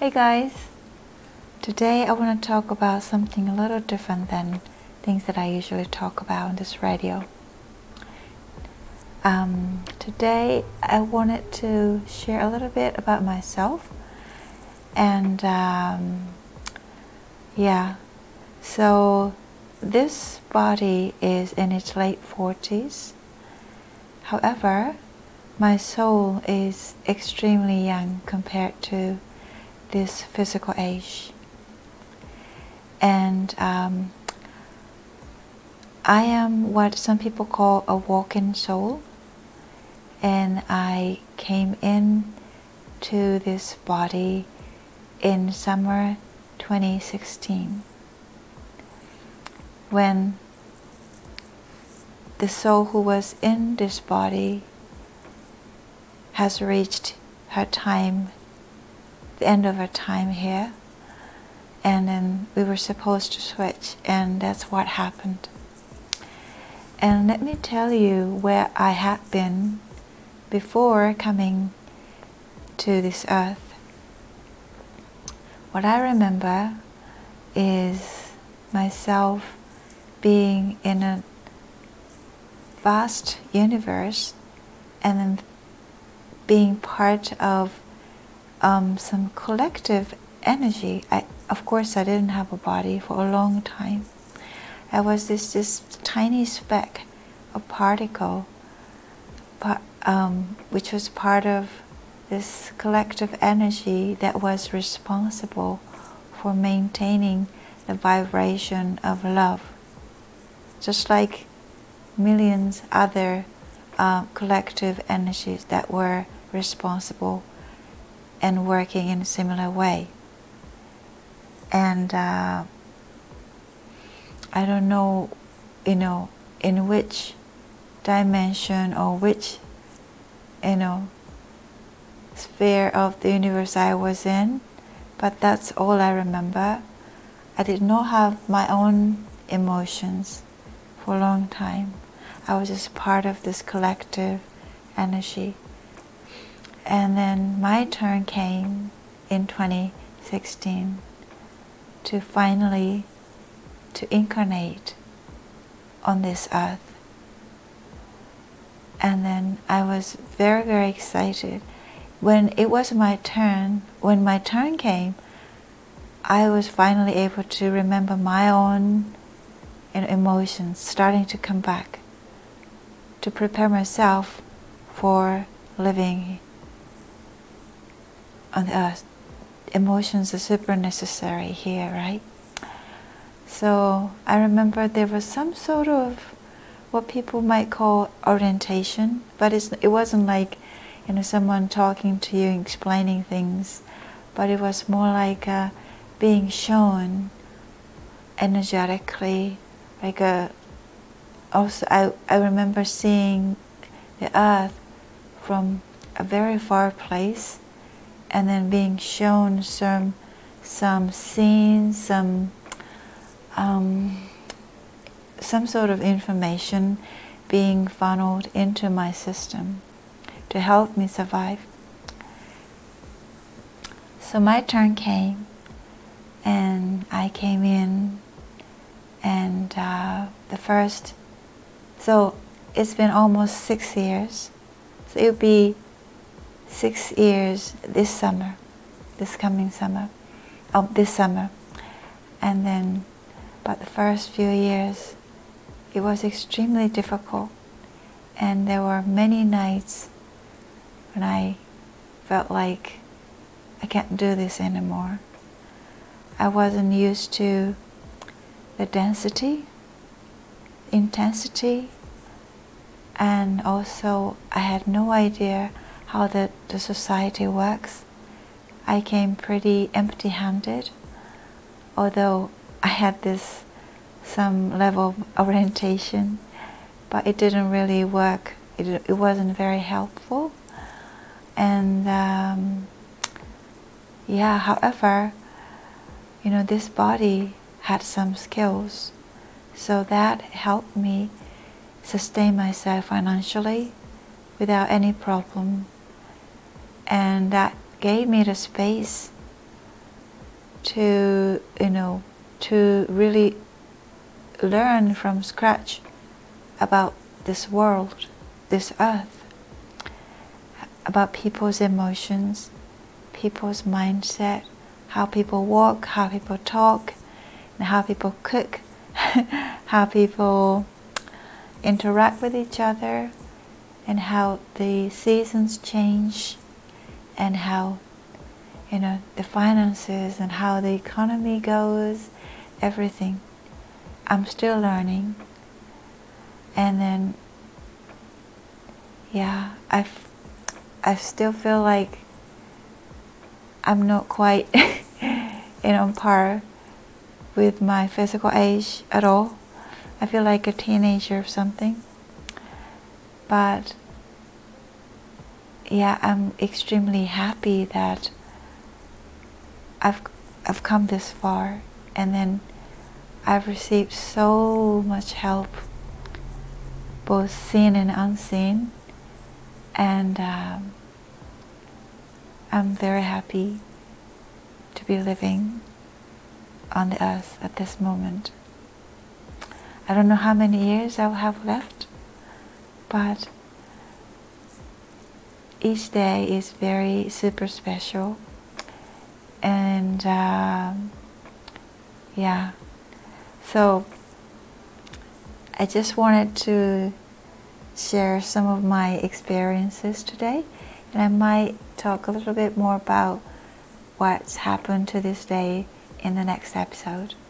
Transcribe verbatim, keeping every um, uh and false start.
Hey guys, today I want to talk about something a little different than things that I usually talk about on this radio. Um, today I wanted to share a little bit about myself and um, yeah, so this body is in its late forties. However, my soul is extremely young compared to this physical age. And um, I am what some people call a walking soul. And I came in to this body in summer twenty sixteen, when the soul who was in this body has reached her time, the end of her time here, and then we were supposed to switch, and that's what happened. And let me tell you where I had been before coming to this earth. What I remember is myself being in a vast universe and then being part of um, some collective energy. I, of course, I didn't have a body for a long time. I was this, this tiny speck, a particle, but, um, which was part of this collective energy that was responsible for maintaining the vibration of love. Just like millions other uh, collective energies that were responsible and working in a similar way. And uh, I don't know, you know, in which dimension or which, you know, sphere of the universe I was in, but that's all I remember. I did not have my own emotions for a long time. I was just part of this collective energy. And then my turn came in twenty sixteen to finally to incarnate on this earth. And then I was very, very excited. When it was my turn, when my turn came, I was finally able to remember my own you know, emotions starting to come back, to prepare myself for living on the earth. Emotions are super necessary here, right? So I remember there was some sort of what people might call orientation, but it's, it wasn't like you know someone talking to you, explaining things, but it was more like uh, being shown energetically, like a. Also, I I remember seeing the earth from a very far place, and then being shown some some scenes, some um, some sort of information being funneled into my system to help me survive. So my turn came, and I came in, and uh, the first, so it's been almost six years, so it'll be six years this summer, this coming summer, oh, this summer, and then, but the first few years, it was extremely difficult, and there were many nights when I felt like I can't do this anymore. I wasn't used to the density, intensity, and also I had no idea how the, the society works. I came pretty empty-handed, although I had this some level of orientation, but it didn't really work. It, it wasn't very helpful. And um, yeah, however, you know, this body had some skills, so that helped me sustain myself financially without any problem. And that gave me the space to, you know, to really learn from scratch about this world, this earth, about people's emotions, people's mindset, how people walk, how people talk, and how people cook, how people interact with each other, and how the seasons change, and how, you know, the finances and how the economy goes, everything. I'm still learning. And then, yeah, I I still feel like I'm not quite you know, on par with my physical age at all. I feel like a teenager or something. But yeah, I'm extremely happy that I've I've come this far, and then I've received so much help, both seen and unseen, and um, I'm very happy to be living on the earth at this moment. I don't know how many years I'll have left, but each day is very super special. And um, yeah, so I just wanted to share some of my experiences today, and I might talk a little bit more about what's happened to this day in the next episode.